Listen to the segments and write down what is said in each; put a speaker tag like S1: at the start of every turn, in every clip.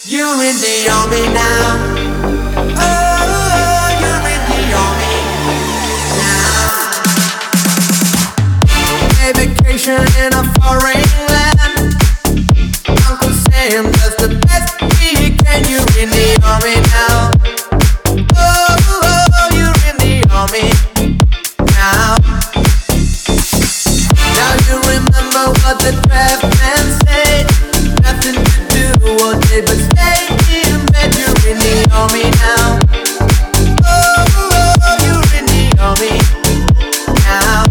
S1: You're in the army now. Oh, you're in the army now. A vacation in a foreign land. Uncle Sam does the best he can. You're in the army now. Oh, you're in the army now. Now you remember what the draft man said. Nothing to do all day but stay in bed. You're in the army now. Oh, you're in the army now.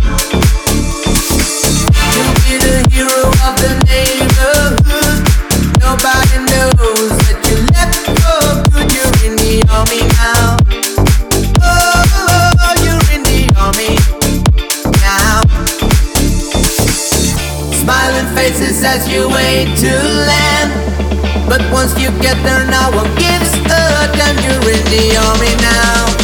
S1: You'll be the hero of the neighborhood. Nobody knows that you left for good. You're in the army now. Oh, you're in the army now. Smiling faces as you wait to land. But once you get there, no one gives a damn. You're in the army now.